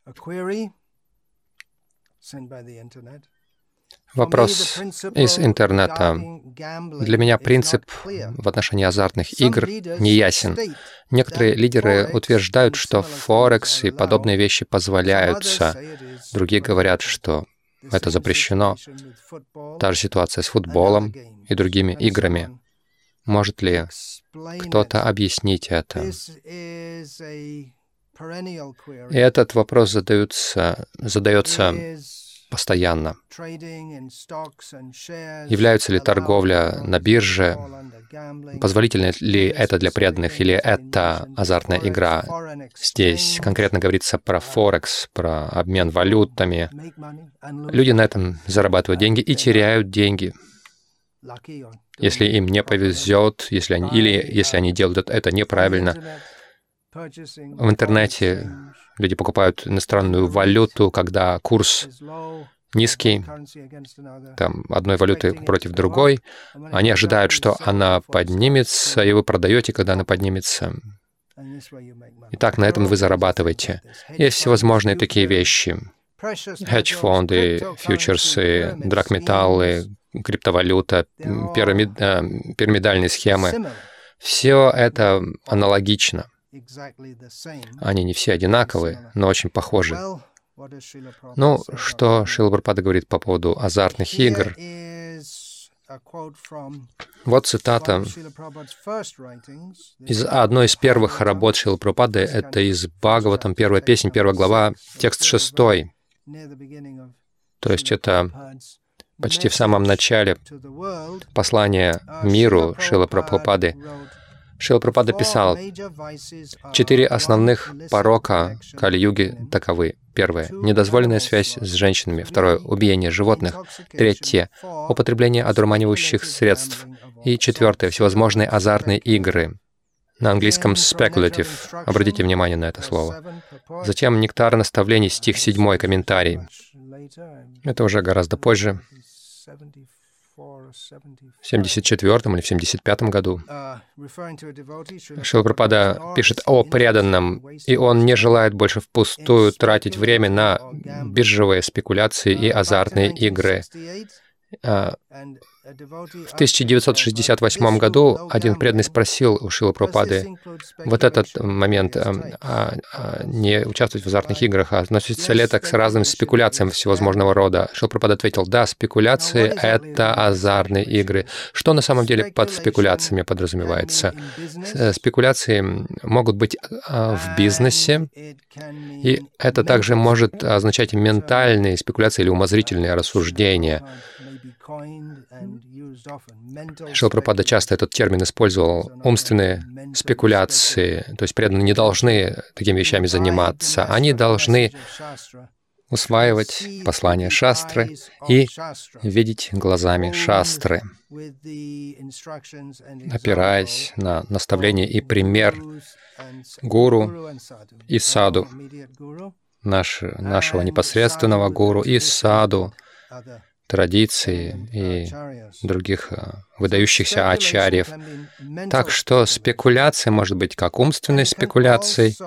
Вопрос из интернета. Для меня принцип в отношении азартных игр неясен. Некоторые лидеры утверждают, что Форекс и подобные вещи позволяются. Другие говорят, что это запрещено. Та же ситуация с футболом и другими играми. Может ли кто-то объяснить это? И этот вопрос задается постоянно. Является ли торговля на бирже? Позволительно ли это для преданных или это азартная игра? Здесь конкретно говорится про Форекс, про обмен валютами. Люди на этом зарабатывают деньги и теряют деньги. Если им не повезет, если они делают это неправильно. В интернете люди покупают иностранную валюту, когда курс низкий, там, одной валюты против другой. Они ожидают, что она поднимется, и вы продаете, когда она поднимется. Итак, на этом вы зарабатываете. Есть всевозможные такие вещи. Хедж-фонды, фьючерсы, драгметаллы, криптовалюта, пирамидальные схемы. Все это аналогично. Они не все одинаковые, но очень похожи. Ну, что Шрила Прабхупада говорит по поводу азартных игр? Вот цитата из одной из первых работ Шрилы Прабхупады. Это из Бхагаватам, первая песня, 1 глава, текст 6. То есть это почти в самом начале послания миру Шрилы Прабхупады. Шрила Прабхупада писал: 4 основных порока Кали-юги таковы. Первое — недозволенная связь с женщинами. Второе — убиение животных. Третье — употребление одурманивающих средств. И четвертое — всевозможные азартные игры. На английском speculative. Обратите внимание на это слово. Затем нектар наставлений, стих 7, комментарий. Это уже гораздо позже. В 74 или в 75 году Шрила Прабхупада пишет о преданном, и он не желает больше впустую тратить время на биржевые спекуляции и азартные игры. В 1968 году один преданный спросил у Шрилы Прабхупады вот этот момент, не участвовать в азартных играх, а относится ли это к разным спекуляциям всевозможного рода. Шрила Прабхупада ответил: да, спекуляции — это азартные игры. Что на самом деле под спекуляциями подразумевается? Спекуляции могут быть в бизнесе, и это также может означать ментальные спекуляции или умозрительные рассуждения. Шрила Прабхупада часто этот термин использовал. Умственные спекуляции, то есть преданные не должны такими вещами заниматься. Они должны усваивать послания шастры и видеть глазами шастры, опираясь на наставление и пример гуру и саду, нашего непосредственного гуру и саду, традиции и других выдающихся ачарьев. Так что спекуляция может быть как умственной спекуляцией,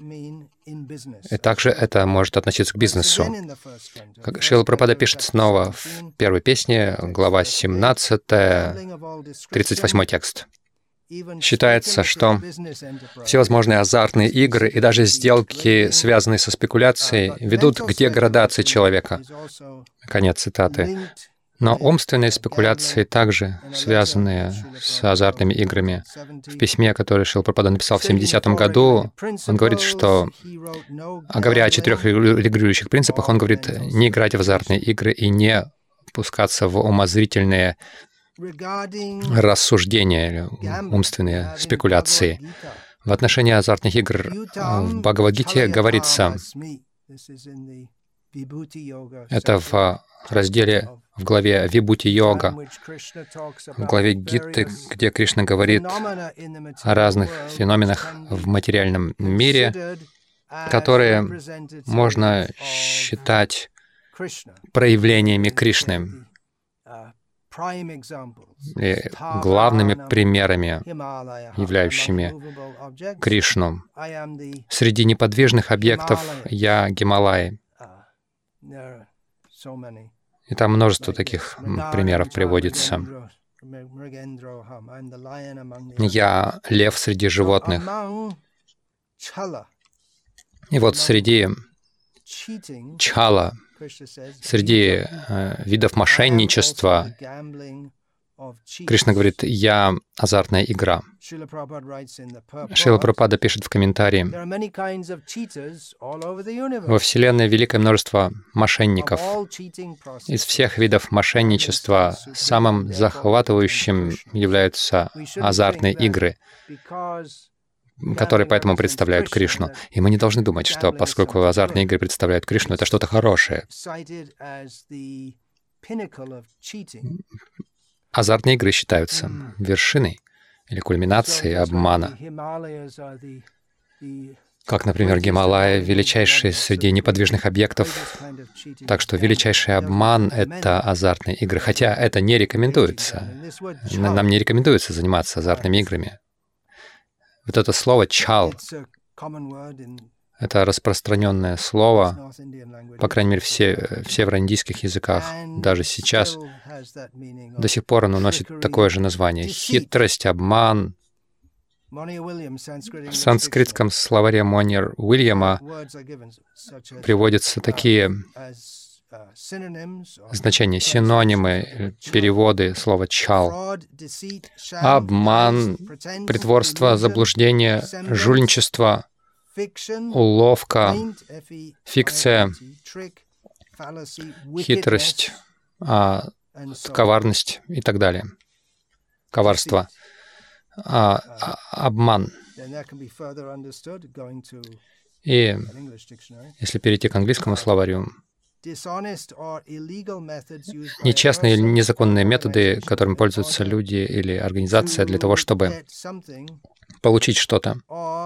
и также это может относиться к бизнесу. Как Шрила Прабхупада пишет снова в первой песне, глава 17, 38 текст. Считается, что всевозможные азартные игры и даже сделки, связанные со спекуляцией, ведут к деградации человека. Конец цитаты. Но умственные спекуляции также связаны с азартными играми. В письме, которое Шрила Прабхупада написал в 70-м году, он говорит, что, говоря о 4 регулирующих принципах, он говорит, не играть в азартные игры и не пускаться в умозрительные рассуждения или умственные спекуляции. В отношении азартных игр в Бхагавад-гите говорится, это в разделе, в главе Вибхути-йога, в главе Гиты, где Кришна говорит о разных феноменах в материальном мире, которые можно считать проявлениями Кришны. и главными примерами, являющими Кришну. Среди неподвижных объектов я Гималай. И там множество таких примеров приводится. Я лев среди животных. И вот среди чхала, среди видов мошенничества, Кришна говорит, я азартная игра. Шрила Прабхупада пишет в комментарии, во Вселенной великое множество мошенников. Из всех видов мошенничества самым захватывающим являются азартные игры, которые поэтому представляют Кришну. И мы не должны думать, что поскольку азартные игры представляют Кришну, это что-то хорошее. Азартные игры считаются вершиной или кульминацией обмана. Как, например, Гималаи, величайший среди неподвижных объектов. Так что величайший обман — это азартные игры. Хотя это не рекомендуется. Нам не рекомендуется заниматься азартными играми. Вот это слово «чал» — это распространенное слово, по крайней мере, в североиндийских языках. Даже сейчас до сих пор оно носит такое же название. Хитрость, обман. В санскритском словаре Монир Уильяма приводятся такие значения, синонимы, переводы слова «чал». Обман, притворство, заблуждение, жульничество, уловка, фикция, хитрость, коварность и так далее. Коварство, обман. И если перейти к английскому словарю, нечестные или незаконные методы, которыми пользуются люди или организация для того, чтобы получить что-то,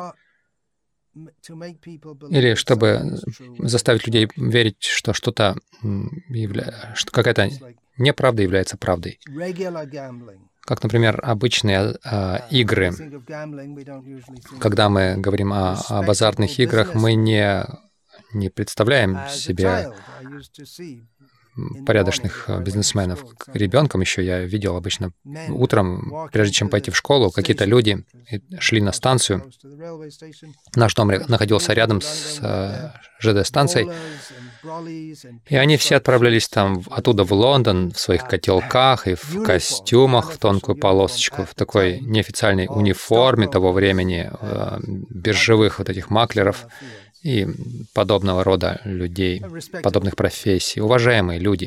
или чтобы заставить людей верить, что что-то, что какая-то неправда является правдой. Как, например, обычные игры. Когда мы говорим об азартных играх, мы не представляем себе порядочных бизнесменов. Ребенком еще я видел обычно утром, прежде чем пойти в школу, какие-то люди шли на станцию. Наш дом находился рядом с ЖД-станцией, и они все отправлялись там оттуда в Лондон в своих котелках и в костюмах в тонкую полосочку, в такой неофициальной униформе того времени, биржевых вот этих маклеров и подобного рода людей, подобных профессий. Уважаемые люди.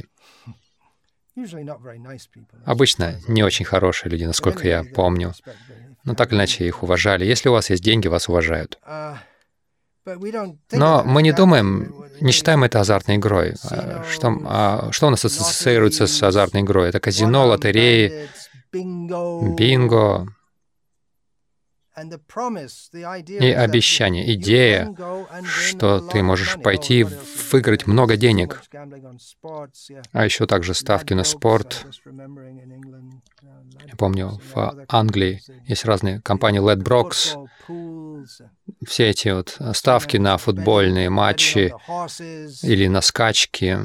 Обычно не очень хорошие люди, насколько я помню. Но так или иначе их уважали. Если у вас есть деньги, вас уважают. Но мы не думаем, не считаем это азартной игрой. Что у нас ассоциируется с азартной игрой? Это казино, лотереи, бинго. И обещание, идея, что ты можешь пойти и выиграть много денег. А еще также ставки на спорт. Я помню, в Англии есть разные компании Ledbrokes. Все эти вот ставки на футбольные матчи или на скачки.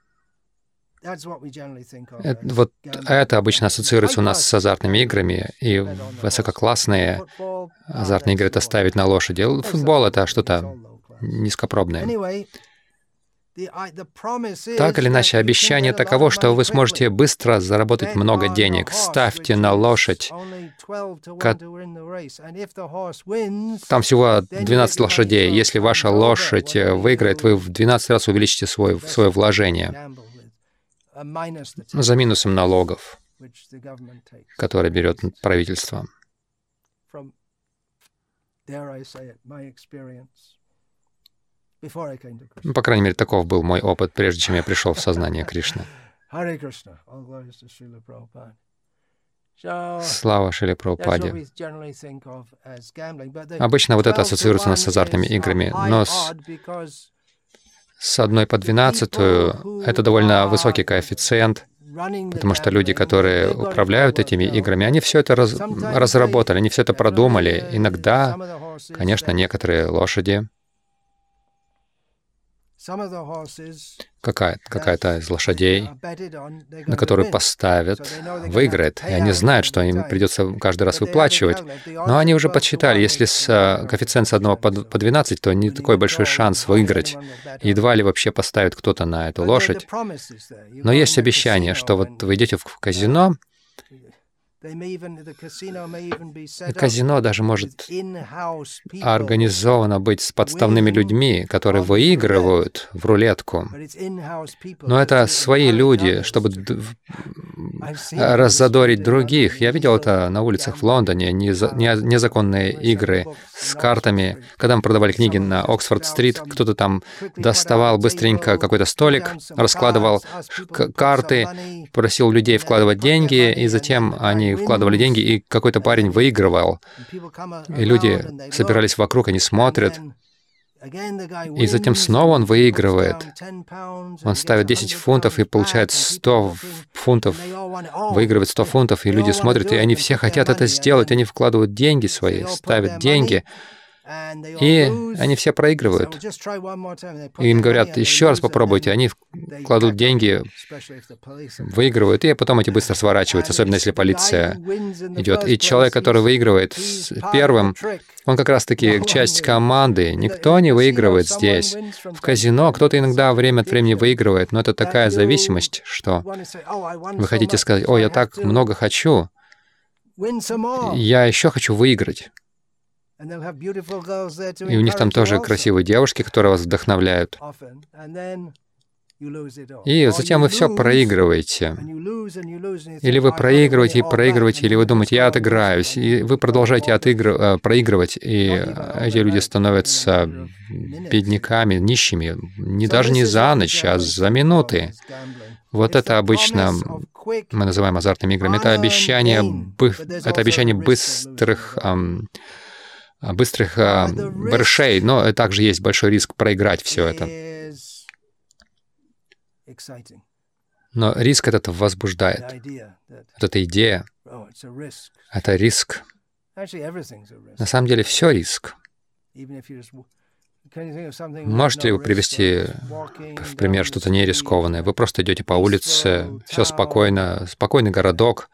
Вот это обычно ассоциируется у нас с азартными играми, и высококлассные азартные игры — это ставить на лошади. Футбол — это что-то низкопробное. Так или иначе, обещание таково, что вы сможете быстро заработать много денег. Ставьте на лошадь. Там всего 12 лошадей. Если ваша лошадь выиграет, вы в 12 раз увеличите свое вложение. За минусом налогов, которые берет правительство. По крайней мере, таков был мой опыт, прежде чем я пришел в сознание Кришны. Слава Шриле Прабхупаде. Обычно вот это ассоциируется у нас с азартными играми, но с 1 по 12 это довольно высокий коэффициент. Потому что люди, которые управляют этими играми, они все это разработали, они все это продумали. Иногда, конечно, некоторые лошади, какая-то из лошадей, на которую поставят, выиграет. И они знают, что им придется каждый раз выплачивать. Но они уже подсчитали, если коэффициент с 1 по 12, то не такой большой шанс выиграть. Едва ли вообще поставит кто-то на эту лошадь. Но есть обещание, что вот вы идете в казино, и казино даже может организовано быть с подставными людьми, которые выигрывают в рулетку. Но это свои люди, чтобы раззадорить других. Я видел это на улицах в Лондоне, незаконные игры с картами. Когда мы продавали книги на Оксфорд-стрит, кто-то там доставал быстренько какой-то столик, раскладывал карты, просил людей вкладывать деньги, и затем они вкладывали деньги, и какой-то парень выигрывал. И люди собирались вокруг, они смотрят. И затем снова он выигрывает. Он ставит 10 фунтов и получает 100 фунтов, выигрывает 100 фунтов, и люди смотрят, и они все хотят это сделать, они вкладывают деньги свои, ставят деньги, и они все проигрывают. И им говорят, еще раз попробуйте. Они кладут деньги, выигрывают, и потом эти быстро сворачиваются, особенно если полиция идет. И человек, который выигрывает первым, он как раз-таки часть команды. Никто не выигрывает здесь. В казино кто-то иногда время от времени выигрывает, но это такая зависимость, что вы хотите сказать, «О, я так много хочу, я еще хочу выиграть». И у них там тоже красивые девушки, которые вас вдохновляют. И затем вы все проигрываете. Или вы проигрываете и проигрываете, или вы думаете, я отыграюсь, и вы продолжаете проигрывать, и эти люди становятся бедняками, нищими, даже не за ночь, а за минуты. Вот это обычно мы называем азартными играми. Это обещание быстрых барышей, но также есть большой риск проиграть все это. Но риск этот возбуждает. Вот эта идея, это риск. На самом деле все риск. Можете ли вы привести в пример что-то нерискованное? Вы просто идете по улице, все спокойно, спокойный городок,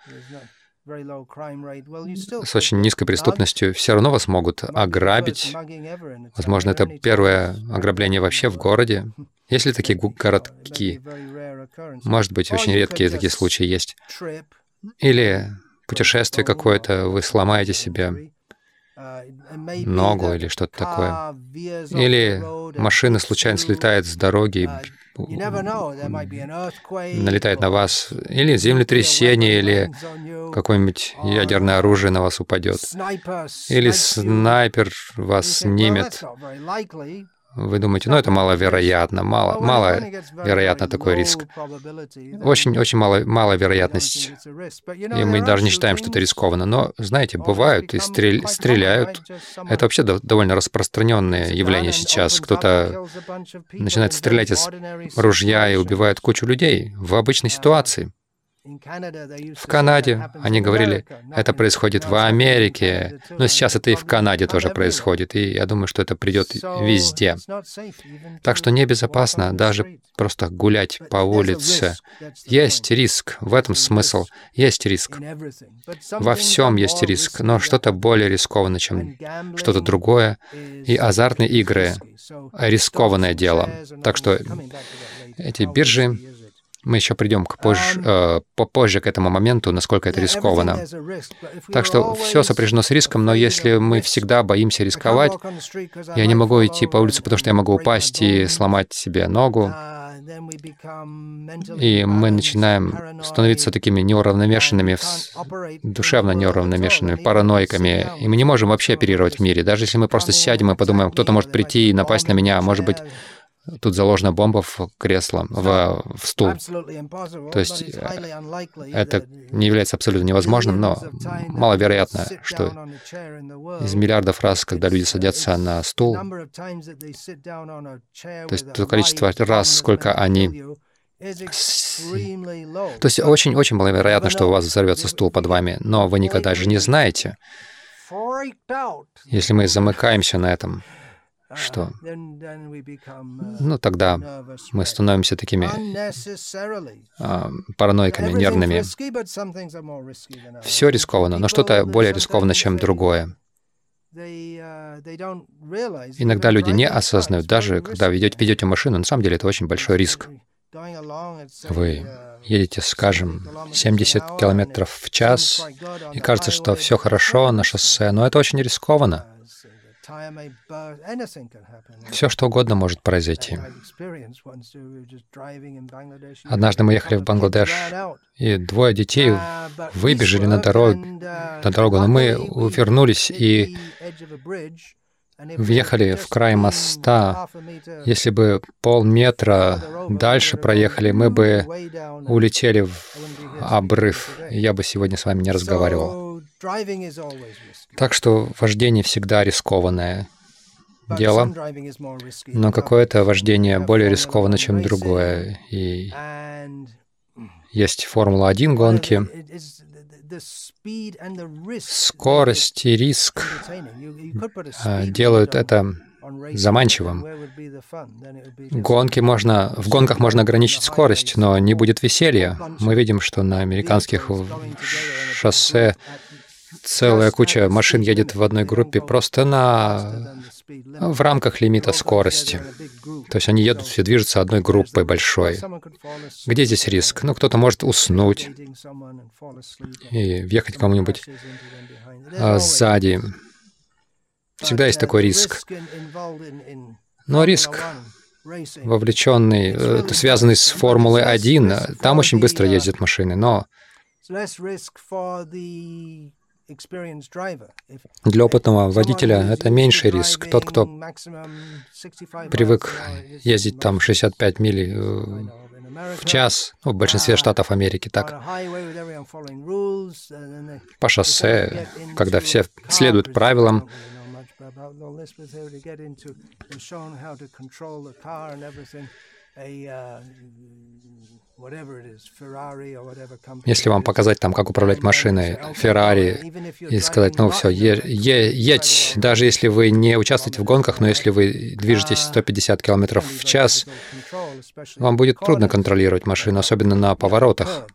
с очень низкой преступностью, все равно вас могут ограбить. Возможно, это первое ограбление вообще в городе. Есть ли такие городки? Может быть, очень редкие такие случаи есть. Или путешествие какое-то, вы сломаете себе ногу или что-то такое. Или машина случайно слетает с дороги, налетает на вас, или землетрясение, или какое-нибудь ядерное оружие на вас упадет, или снайпер вас снимет. Вы думаете, это маловероятно, маловероятно такой риск. Очень мало вероятность. И мы даже не считаем, что это рискованно. Но, знаете, бывают и стреляют. Это вообще довольно распространенное явление сейчас. Кто-то начинает стрелять из ружья и убивает кучу людей в обычной ситуации. В Канаде они говорили, это происходит в Америке, но сейчас это и в Канаде тоже происходит, и я думаю, что это придет везде. Так что небезопасно даже просто гулять по улице. Есть риск, в этом смысл. Есть риск. Во всем есть риск, но что-то более рискованное, чем что-то другое. И азартные игры — рискованное дело. Так что эти биржи, мы еще придем попозже к этому моменту, насколько это рискованно. Так что все сопряжено с риском, но если мы всегда боимся рисковать, я не могу идти по улице, потому что я могу упасть и сломать себе ногу, и мы начинаем становиться такими неуравновешенными, душевно неуравновешенными, параноиками, и мы не можем вообще оперировать в мире. Даже если мы просто сядем и подумаем, кто-то может прийти и напасть на меня, может быть, тут заложена бомба в кресло, в стул. То есть это не является абсолютно невозможным, но маловероятно, что из миллиардов раз, когда люди садятся на стул, то есть то количество раз, сколько они То есть очень-очень маловероятно, что у вас взорвется стул под вами, но вы никогда же не знаете. Если мы замыкаемся на этом, что? Ну, тогда мы становимся такими параноиками, нервными. Все рискованно, но что-то более рискованно, чем другое. Иногда люди не осознают, даже когда ведете машину, на самом деле это очень большой риск. Вы едете, скажем, 70 километров в час, и кажется, что все хорошо на шоссе, но это очень рискованно. Все, что угодно может произойти. Однажды мы ехали в Бангладеш, и двое детей выбежали на дорогу, но мы вернулись и въехали в край моста. Если бы полметра дальше проехали, мы бы улетели в обрыв. Я бы сегодня с вами не разговаривал. Так что вождение всегда рискованное дело, но какое-то вождение более рискованно, чем другое. И есть Формула-1 гонки. Скорость и риск делают это заманчивым. В гонках можно ограничить скорость, но не будет веселья. Мы видим, что на американских шоссе целая куча машин едет в одной группе просто в рамках лимита скорости. То есть они едут, все движутся одной группой большой. Где здесь риск? Ну, кто-то может уснуть и въехать кому-нибудь сзади. Всегда есть такой риск. Но риск, вовлеченный, связанный с Формулой-1, там очень быстро ездят машины, но для опытного водителя это меньший риск. Тот, кто привык ездить там 65 миль в час, в большинстве штатов Америки так, по шоссе, когда все следуют правилам, если вам показать там, как управлять машиной, Феррари, и сказать, ну все, едь, даже если вы не участвуете в гонках, но если вы движетесь 150 км в час, вам будет трудно контролировать машину, особенно на поворотах.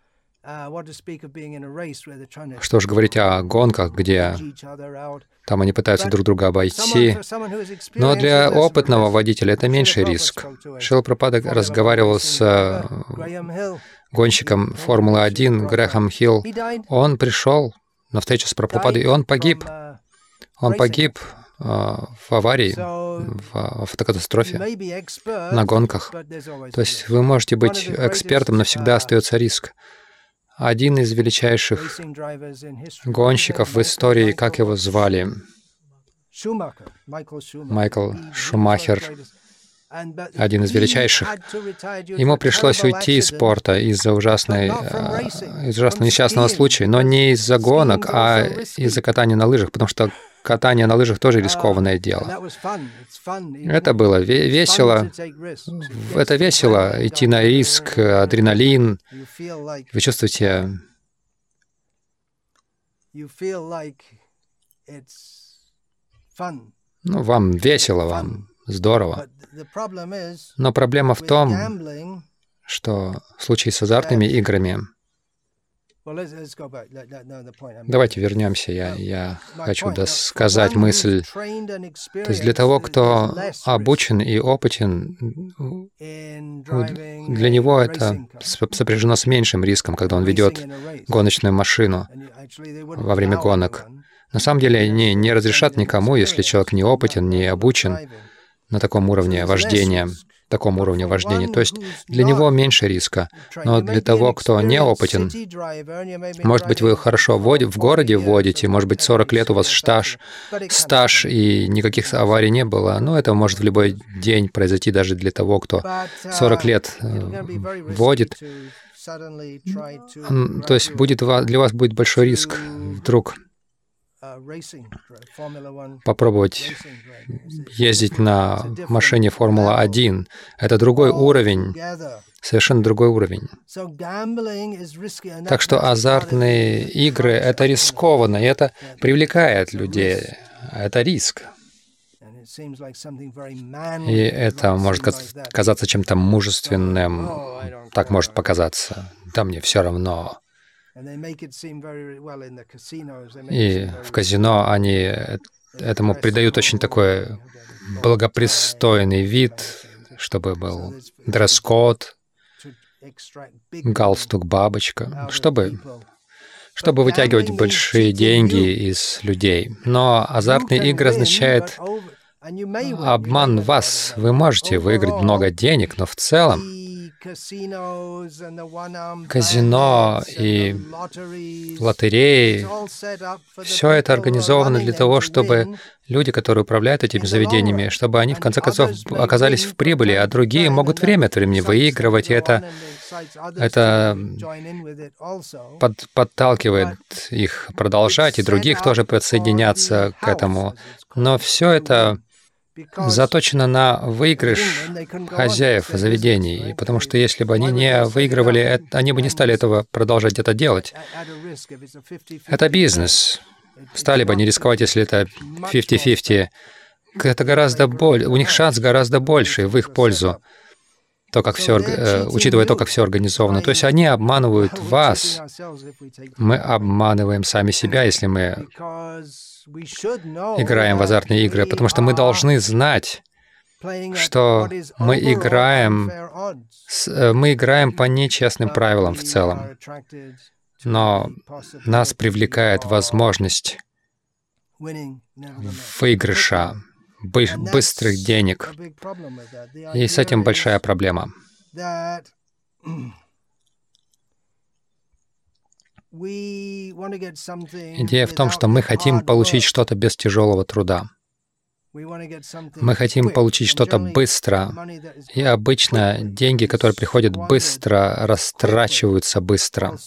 Что ж говорить о гонках, где там они пытаются друг друга обойти. Но для опытного водителя это меньший риск. Шрила Прабхупада разговаривал с гонщиком Формулы-1 Грэхэм Хилл. Он пришел на встречу с Прабхупадой, и он погиб. Он погиб в аварии, в автокатастрофе, на гонках. То есть вы можете быть экспертом, но всегда остается риск. Один из величайших гонщиков в истории, как его звали? Майкл Шумахер, один из величайших. Ему пришлось уйти из спорта из-за ужасного несчастного случая, но не из-за гонок, а из-за катания на лыжах, потому что катание на лыжах тоже рискованное дело. Это было весело. Это весело, идти на риск, адреналин. Вы чувствуете... Ну, вам весело, вам здорово. Но проблема в том, что в случае с азартными играми... Давайте вернемся. Я хочу досказать мысль. То есть для того, кто обучен и опытен, для него это сопряжено с меньшим риском, когда он ведет гоночную машину во время гонок. На самом деле они не разрешат никому, если человек не опытен, не обучен на таком уровне вождения. То есть для него меньше риска. Но для того, кто не опытен, может быть, вы хорошо в городе водите, может быть, 40 лет у вас стаж, и никаких аварий не было, но это может в любой день произойти даже для того, кто 40 лет водит. То есть для вас будет большой риск вдруг попробовать ездить на машине Формула-1. Это другой уровень совершенно другой уровень. Так что азартные игры — это рискованно, и это привлекает людей. Это риск. И это может казаться чем-то мужественным. Так может показаться. Да мне все равно. И в казино они этому придают очень такой благопристойный вид, чтобы был дресс-код, галстук, бабочка, чтобы вытягивать большие деньги из людей. Но азартные игры означает обман вас. Вы можете выиграть много денег, но в целом казино и лотереи — все это организовано для того, чтобы люди, которые управляют этими заведениями, чтобы они в конце концов оказались в прибыли, а другие могут время от времени выигрывать, и это подталкивает их продолжать, и других тоже подсоединяться к этому. Но все это заточено на выигрыш хозяев заведений, потому что если бы они не выигрывали, они бы не стали продолжать это делать. Это бизнес. Стали бы не рисковать, если это 50-50. Это гораздо больше, у них шанс гораздо больше в их пользу, учитывая то, как все организовано. То есть они обманывают вас. Мы обманываем сами себя, если мы играем в азартные игры, потому что мы должны знать, что мы играем по нечестным правилам в целом. Но нас привлекает возможность выигрыша, быстрых денег. И с этим большая проблема. Идея в том, что мы хотим получить что-то без тяжелого труда. Мы хотим получить что-то быстро. И обычно деньги, которые приходят быстро, растрачиваются быстро.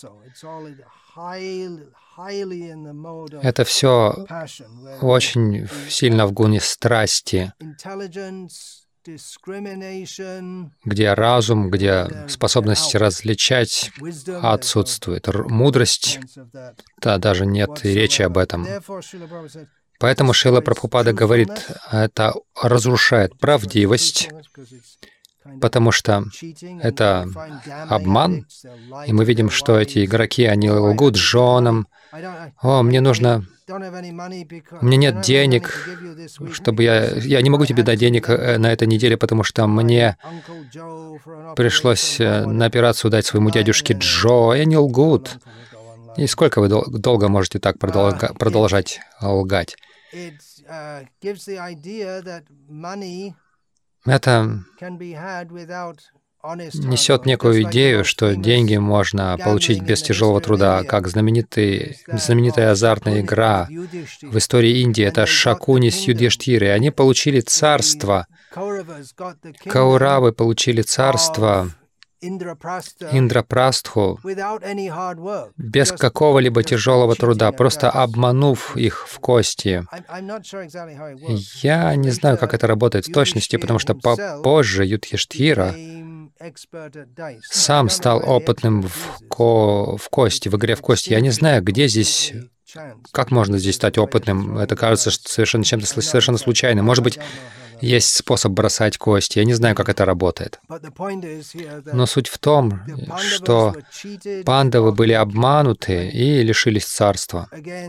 Это все очень сильно в гуне страсти, где разум, где способность различать отсутствует. Мудрость, да, даже нет и речи об этом. Поэтому Шрила Прабхупада говорит, это разрушает правдивость, потому что это обман, и мы видим, что эти игроки, они лгут женам. «О, мне нужно... У меня нет денег, чтобы я не могу тебе дать денег на этой неделе, потому что мне пришлось на операцию дать своему дядюшке Джо». И они лгут. И сколько вы долго можете так продолжать лгать? Это несет некую идею, что деньги можно получить без тяжелого труда, как знаменитая азартная игра в истории Индии. Это Шакуни с Юдхиштхирой. Они получили царство. Кауравы получили царство Индрапрастху без какого-либо тяжелого труда, просто обманув их в кости. Я не знаю, как это работает в точности, потому что позже Юдхиштхира сам стал опытным в кости, в игре в кости. Я не знаю, где здесь, как можно здесь стать опытным. Это кажется совершенно чем-то совершенно случайным. Может быть, есть способ бросать кости. Я не знаю, как это работает. Но суть в том, что пандавы были обмануты и лишились царства.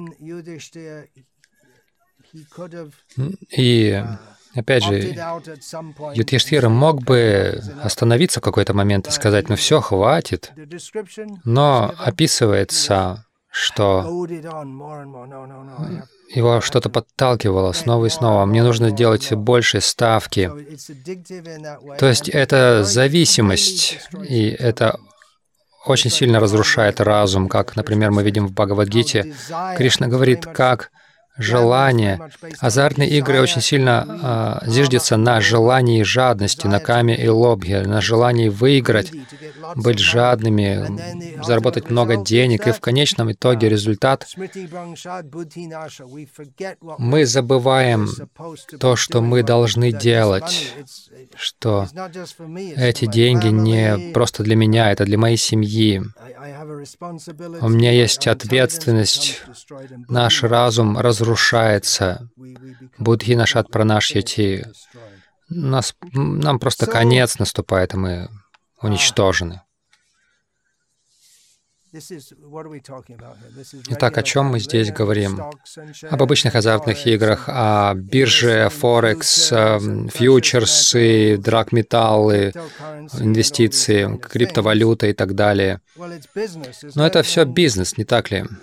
И опять же, Юдхиштхира мог бы остановиться в какой-то момент и сказать, ну все, хватит. Но описывается, что его что-то подталкивало снова и снова. Мне нужно делать больше ставки. То есть это зависимость, и это очень сильно разрушает разум, как, например, мы видим в Бхагавад-гите. Кришна говорит, как желание. Азартные игры очень сильно зиждятся на желании жадности, на каме и лобхе, на желании выиграть, быть жадными, заработать много денег. И в конечном итоге результат — мы забываем то, что мы должны делать, что эти деньги не просто для меня, это для моей семьи. У меня есть ответственность. Наш разум разрушается. Будхи нашат пранашьяти. Нам просто конец наступает, и мы уничтожены. Итак, о чем мы здесь говорим? Об обычных азартных играх, о бирже, форекс, фьючерсы, драгметаллы, инвестиции, криптовалюта и так далее. Но это все бизнес, не так ли?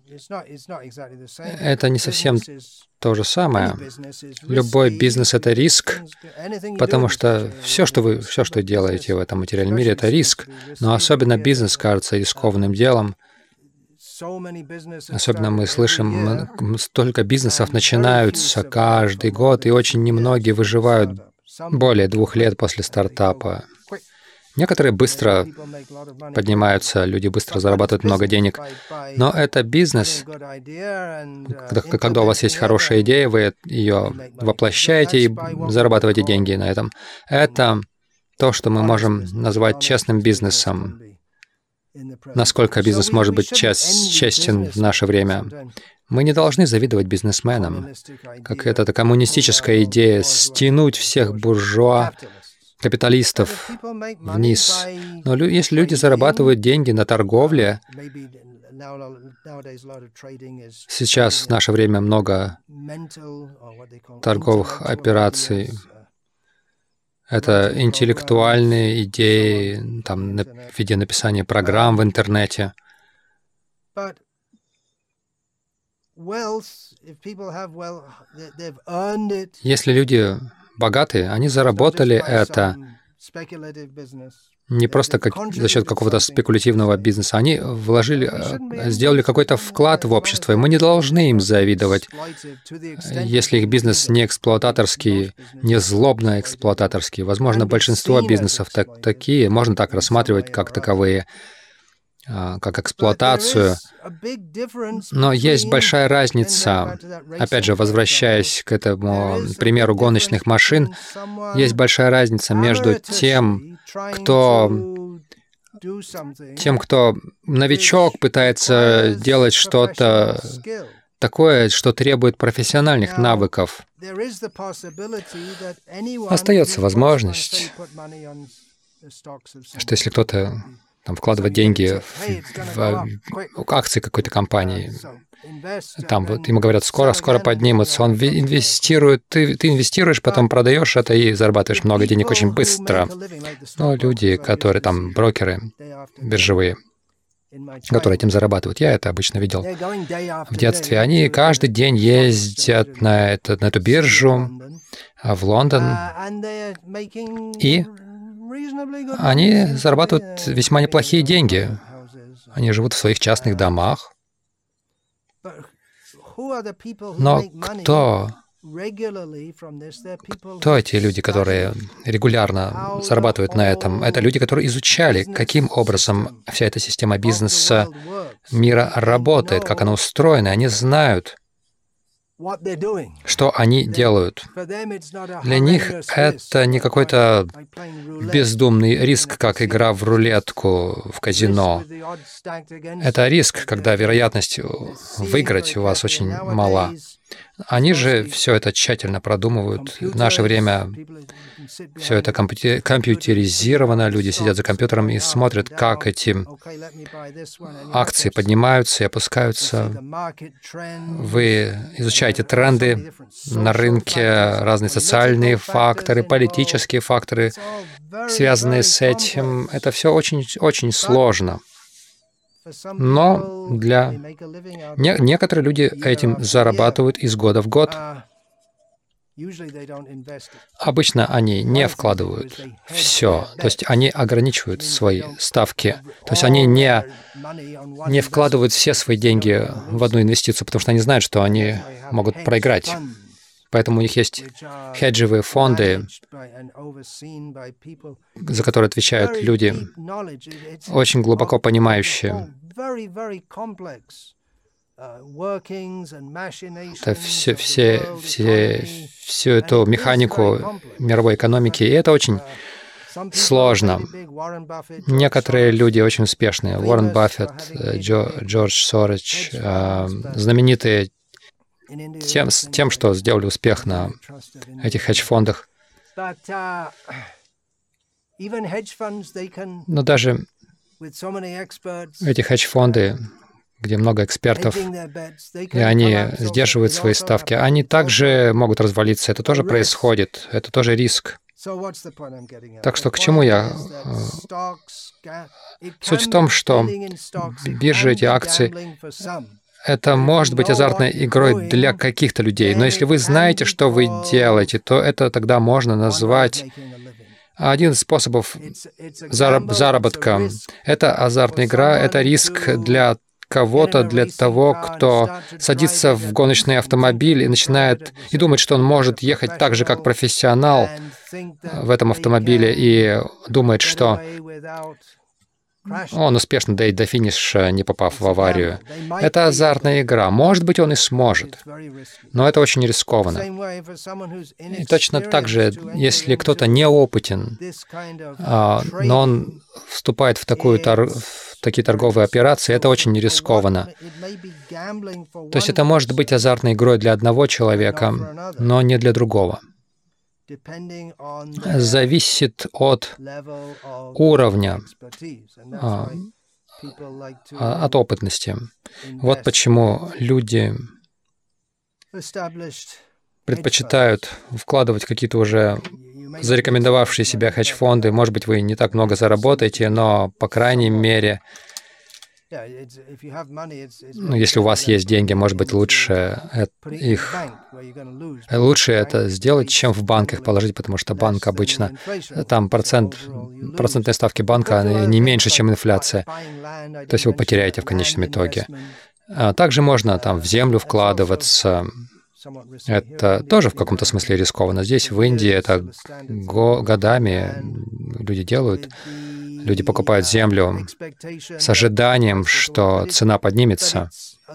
Это не совсем то же самое. Любой бизнес — это риск, потому что все, что вы делаете в этом материальном мире, это риск. Но особенно бизнес кажется рискованным делом. Особенно мы слышим, столько бизнесов начинаются каждый год, и очень немногие выживают более 2 лет после стартапа. Некоторые быстро поднимаются, люди быстро зарабатывают много денег. Но это бизнес. Когда у вас есть хорошая идея, вы ее воплощаете и зарабатываете деньги на этом. Это то, что мы можем назвать честным бизнесом. Насколько бизнес может быть честен в наше время? Мы не должны завидовать бизнесменам, как это коммунистическая идея — стянуть всех буржуа, капиталистов вниз. Но если люди зарабатывают деньги на торговле, сейчас в наше время много торговых операций. Это интеллектуальные идеи, там, в виде написания программ в интернете. Если люди богатые, они заработали это не просто за счет какого-то спекулятивного бизнеса. Они сделали какой-то вклад в общество, и мы не должны им завидовать, если их бизнес не эксплуататорский, не злобно эксплуататорский. Возможно, большинство бизнесов такие, можно так рассматривать как таковые, как эксплуатацию. Но есть большая разница, опять же, возвращаясь к этому примеру гоночных машин, есть большая разница между тем, кто новичок пытается делать что-то такое, что требует профессиональных навыков. Остается возможность, что если кто-то вкладывать деньги в акции какой-то компании. Там вот ему говорят, скоро поднимутся. Он инвестирует, ты инвестируешь, потом продаешь это и зарабатываешь много денег очень быстро. Но люди, которые там брокеры биржевые, которые этим зарабатывают, я это обычно видел в детстве, они каждый день ездят на эту биржу в Лондон, и они зарабатывают весьма неплохие деньги. Они живут в своих частных домах. Но кто эти люди, которые регулярно зарабатывают на этом? Это люди, которые изучали, каким образом вся эта система бизнеса мира работает, как она устроена. Они знают, что они делают. Для них это не какой-то бездумный риск, как игра в рулетку в казино. Это риск, когда вероятность выиграть у вас очень мала. Они же все это тщательно продумывают. В наше время все это компьютеризировано. Люди сидят за компьютером и смотрят, как эти акции поднимаются и опускаются. Вы изучаете тренды на рынке, разные социальные факторы, политические факторы, связанные с этим. Это все очень сложно. Но некоторые люди этим зарабатывают из года в год. Обычно они не вкладывают все, то есть они ограничивают свои ставки, то есть они не вкладывают все свои деньги в одну инвестицию, потому что они знают, что они могут проиграть. Поэтому у них есть хеджевые фонды, за которые отвечают люди, очень глубоко понимающие всю эту механику мировой экономики, и это очень сложно. Некоторые люди очень успешные. Уоррен Баффет, Джордж Сорос, знаменитые тем, что сделали успех на этих хедж-фондах. Но даже эти хедж-фонды, где много экспертов, и они сдерживают свои ставки, они также могут развалиться. Это тоже происходит, это тоже риск. Так что к чему я? Суть в том, что биржи, эти акции, это может быть азартной игрой для каких-то людей. Но если вы знаете, что вы делаете, то это тогда можно назвать один из способов заработка. Это азартная игра, это риск для кого-то, для того, кто садится в гоночный автомобиль и начинает и думает, что он может ехать так же, как профессионал в этом автомобиле, и думает, что он успешно доедет до финиша, не попав в аварию. Это азартная игра. Может быть, он и сможет, но это очень рискованно. И точно так же, если кто-то неопытен, но он вступает в такие торговые операции, это очень рискованно. То есть это может быть азартной игрой для одного человека, но не для другого. Зависит от уровня, от опытности. Вот почему люди предпочитают вкладывать какие-то уже зарекомендовавшие себя хедж-фонды. Может быть, вы не так много заработаете, но, по крайней мере, если у вас есть деньги, может быть, лучше это сделать, чем в банк их положить, потому что банк обычно, там процентные ставки банка не меньше, чем инфляция. То есть вы потеряете в конечном итоге. Также можно там в землю вкладываться. Это тоже в каком-то смысле рискованно. Здесь, в Индии, это годами люди делают. Люди покупают землю с ожиданием, что цена поднимется.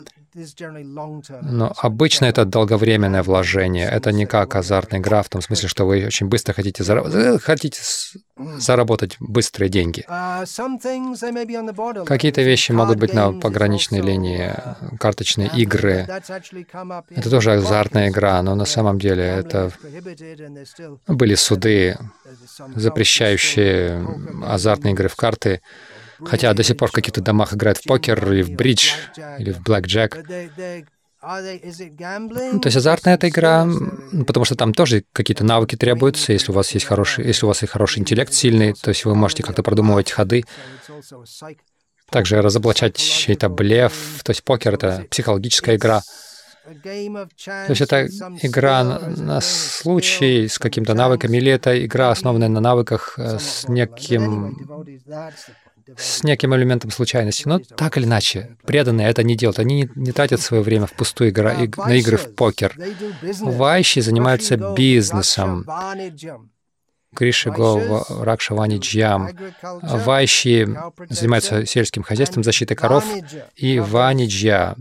Но обычно это долговременное вложение. Это не как азартная игра, в том смысле, что вы очень быстро хотите заработать быстрые деньги. Какие-то вещи могут быть на пограничной линии, карточные игры. Это тоже азартная игра, но на самом деле это были суды, запрещающие азартные игры в карты, хотя до сих пор в каких-то домах играют в покер или в бридж, или в блэкджек. То есть азартная эта игра, потому что там тоже какие-то навыки требуются, если у вас есть хороший интеллект сильный, то есть вы можете как-то продумывать ходы, также разоблачать чей-то блеф. То есть покер — это психологическая игра. То есть это игра на случай с какими-то навыками, или это игра, основанная на навыках с неким элементом случайности. Но так или иначе, преданные это не делают. Они не тратят свое время впустую на игры в покер. Вайши занимаются бизнесом. Криши Го Ракша Ваниджьям. Вайши занимаются сельским хозяйством, защитой коров, и Ваниджья.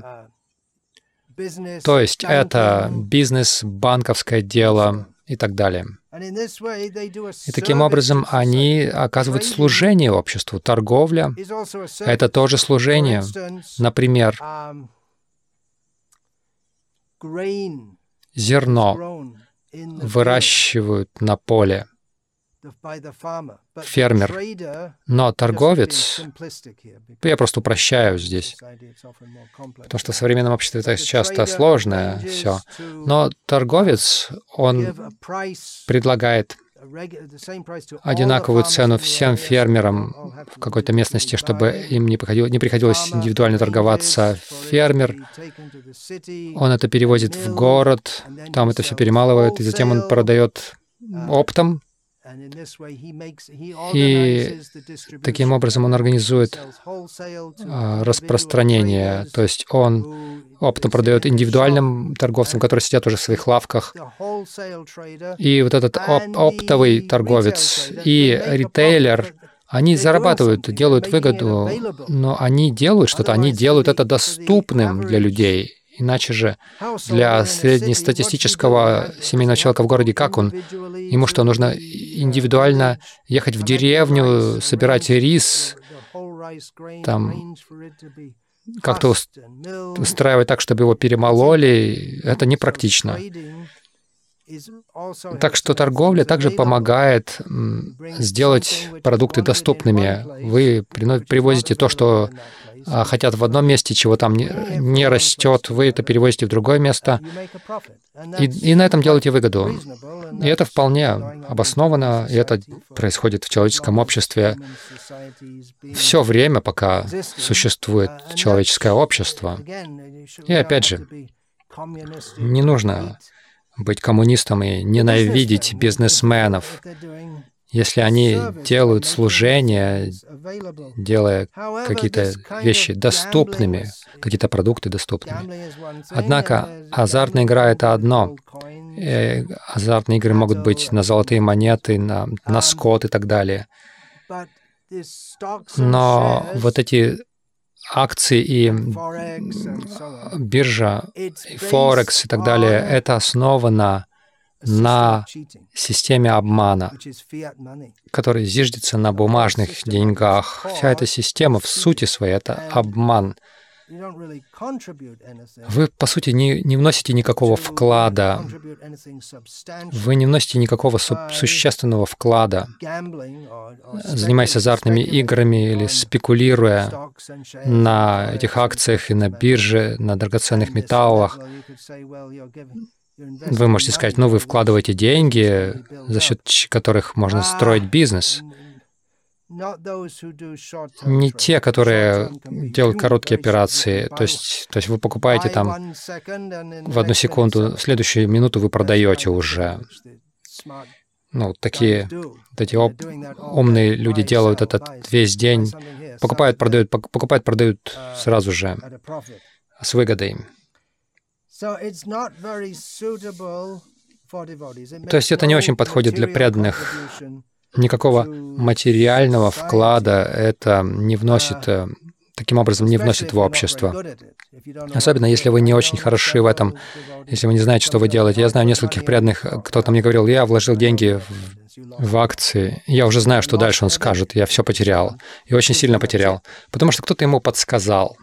То есть это бизнес, банковское дело и так далее. И таким образом они оказывают служение обществу. Торговля — это тоже служение. Например, зерно выращивают на поле фермер, но торговец, я просто упрощаю здесь, потому что в современном обществе это часто сложное все, но торговец, он предлагает одинаковую цену всем фермерам в какой-то местности, чтобы им не приходилось индивидуально торговаться. Фермер, он это перевозит в город, там это все перемалывает, и затем он продает оптом. И таким образом он организует распространение, то есть он оптом продает индивидуальным торговцам, которые сидят уже в своих лавках. И вот этот оптовый торговец и ритейлер, они зарабатывают, делают выгоду, но они делают что-то, они делают это доступным для людей. Иначе же для среднестатистического семейного человека в городе, как он? Ему что, нужно индивидуально ехать в деревню, собирать рис, там как-то устраивать так, чтобы его перемололи? Это непрактично. Так что торговля также помогает сделать продукты доступными. Вы привозите то, что хотят в одном месте, чего там не растет, вы это перевозите в другое место, и на этом делаете выгоду. И это вполне обоснованно, и это происходит в человеческом обществе все время, пока существует человеческое общество. И опять же, не нужно быть коммунистом и ненавидеть бизнесменов, если они делают служение, делая какие-то вещи доступными, какие-то продукты доступными. Однако азартная игра — это одно. Азартные игры могут быть на золотые монеты, на скот и так далее. Но вот эти акции и биржа, и Форекс и так далее, это основано на системе обмана, который зиждется на бумажных деньгах. Вся эта система в сути своей — это обман. Вы, по сути, не вносите никакого вклада. Вы не вносите никакого существенного вклада, занимаясь азартными играми или спекулируя на этих акциях и на бирже, на драгоценных металлах. Вы можете сказать, вы вкладываете деньги, за счет которых можно строить бизнес. Не те, которые делают короткие операции, то есть вы покупаете там в 1 секунду, в следующую минуту вы продаете уже. Такие эти умные люди делают это весь день, покупают, продают сразу же с выгодой. То есть это не очень подходит для преданных. Никакого материального вклада это не вносит, таким образом не вносит в общество. Особенно, если вы не очень хороши в этом, если вы не знаете, что вы делаете. Я знаю нескольких преданных, кто-то мне говорил, я вложил деньги в акции, я уже знаю, что дальше он скажет, я все потерял. И очень сильно потерял, потому что кто-то ему подсказал.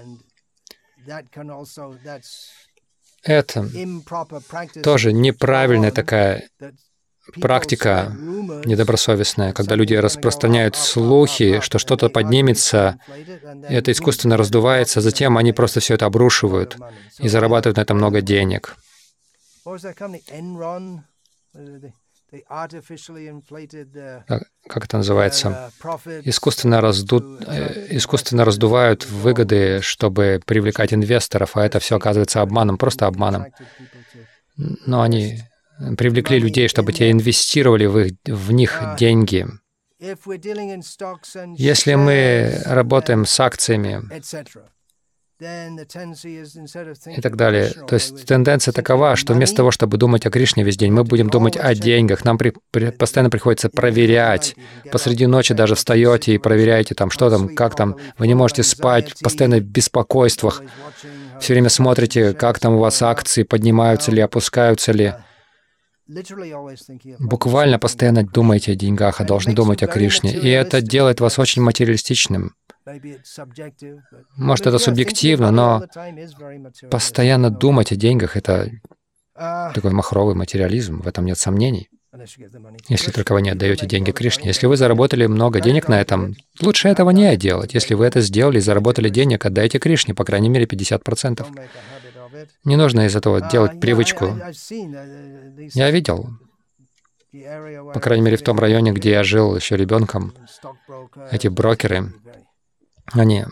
Это тоже неправильная такая практика, недобросовестная, когда люди распространяют слухи, что что-то поднимется, и это искусственно раздувается, затем они просто все это обрушивают и зарабатывают на это много денег. Как это называется? Искусственно раздувают выгоды, чтобы привлекать инвесторов, а это все оказывается обманом, просто обманом. Но они привлекли людей, чтобы те инвестировали в них деньги. Если мы работаем с акциями и так далее, то есть тенденция такова, что вместо того, чтобы думать о Кришне весь день, мы будем думать о деньгах. Нам постоянно приходится проверять. Посреди ночи даже встаете и проверяете, что там, как там. Вы не можете спать, постоянно в беспокойствах. Все время смотрите, как там у вас акции, поднимаются ли, опускаются ли. Буквально постоянно думаете о деньгах, а должны думать о Кришне. И это делает вас очень материалистичным. Может, это субъективно, но постоянно думать о деньгах — это такой махровый материализм, в этом нет сомнений. Если только вы не отдаете деньги Кришне. Если вы заработали много денег на этом, лучше этого не делать. Если вы это сделали и заработали денег, отдайте Кришне, по крайней мере, 50%. Не нужно из этого делать привычку. Я видел По крайней мере, в том районе, где я жил еще ребенком, эти брокеры, они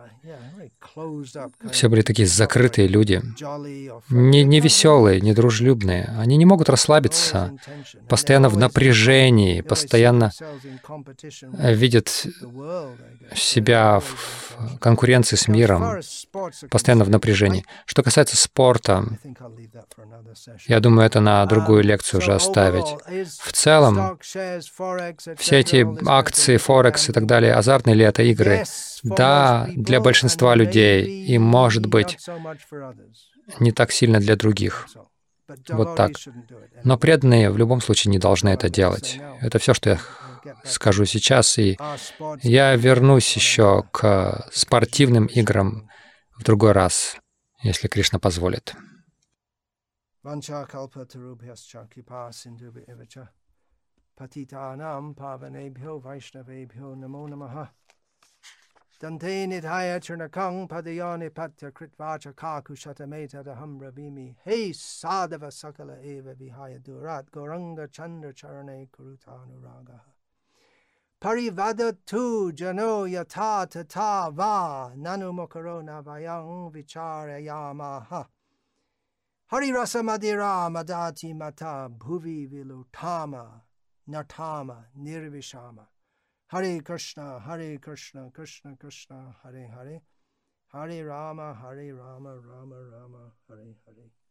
все были такие закрытые люди, не веселые, не дружелюбные. Они не могут расслабиться, постоянно в напряжении, постоянно видят себя в конкуренции с миром, постоянно в напряжении. Что касается спорта, я думаю, это на другую лекцию уже оставить. В целом, все эти акции, Форекс и так далее, азартные ли это игры? Да, для большинства людей, и, может быть, не так сильно для других. Вот так. Но преданные в любом случае не должны это делать. Это все, что я скажу сейчас, и я вернусь еще к спортивным играм в другой раз, если Кришна позволит. Dante nidhaya churnakang padayani patya kritvacha kaku shatameta daham ravimi. Hey sadhava sakala eva vihaya durat goranga chandra charane kurutanuraga. Parivada tu jano yata tata va nanu mokarona vayang vicharayamaha. Hari rasa madira madati mata bhuvi vilutama natama nirvishama. Hare Krishna, Krishna Krishna, Hare Hare, Hare Rama, Rama Rama, Hare Hare.